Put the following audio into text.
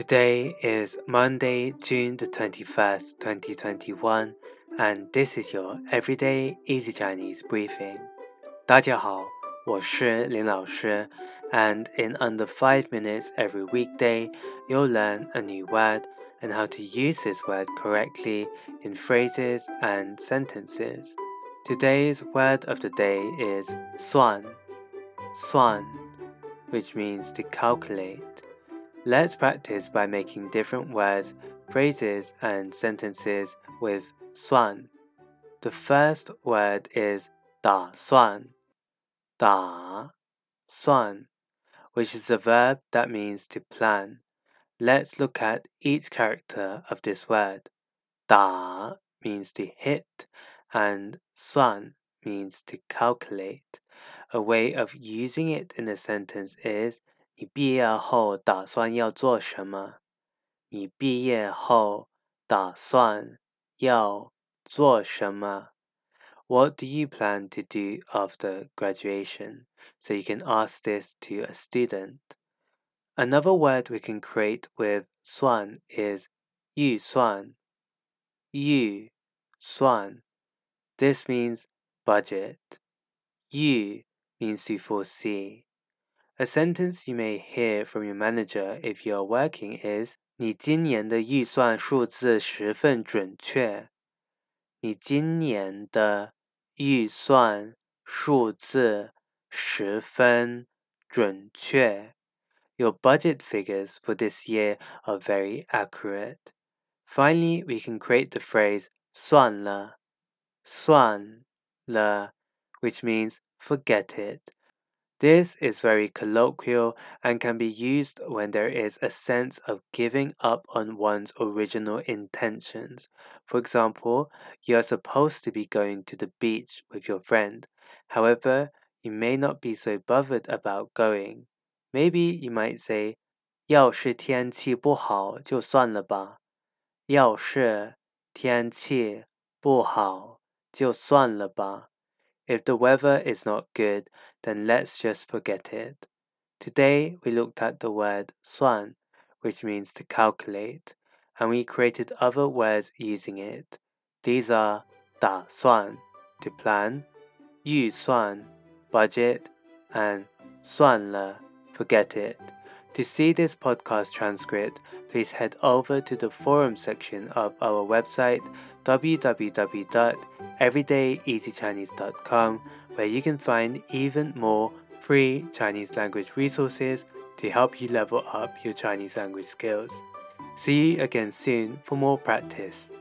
Today is Monday, June the 21st, 2021, and this is your Everyday Easy Chinese Briefing. 大家好，我是林老师, and in under 5 minutes every weekday, you'll learn a new word and how to use this word correctly in phrases and sentences. Today's word of the day is 算, which means to calculate.Let's practice by making different words, phrases, and sentences with 算. The first word is 打算, which is a verb that means to plan. Let's look at each character of this word. 打 means to hit, and 算 means to calculate. A way of using it in a sentence is你毕业后打算要做什么？你毕业后打算要做什么？ What do you plan to do after graduation? So you can ask this to a student. Another word we can create with 算 is 预算. This means budget. 预 means to foresee.A sentence you may hear from your manager if you are working is 你今年的预算数字十分准确。你今年的预算数字十分准确。Your budget figures for this year are very accurate. Finally, we can create the phrase 算了, which means forget it.This is very colloquial and can be used when there is a sense of giving up on one's original intentions. For example, you are supposed to be going to the beach with your friend. However, you may not be so bothered about going. Maybe you might say, 要是天气不好就算了吧。要是天气不好就算了吧。If the weather is not good, then let's just forget it. Today, we looked at the word 算, which means to calculate, and we created other words using it. These are 打算, to plan, 预算, budget, and 算了, forget it.To see this podcast transcript, please head over to the forum section of our website www.everydayeasychinese.com, where you can find even more free Chinese language resources to help you level up your Chinese language skills. See you again soon for more practice.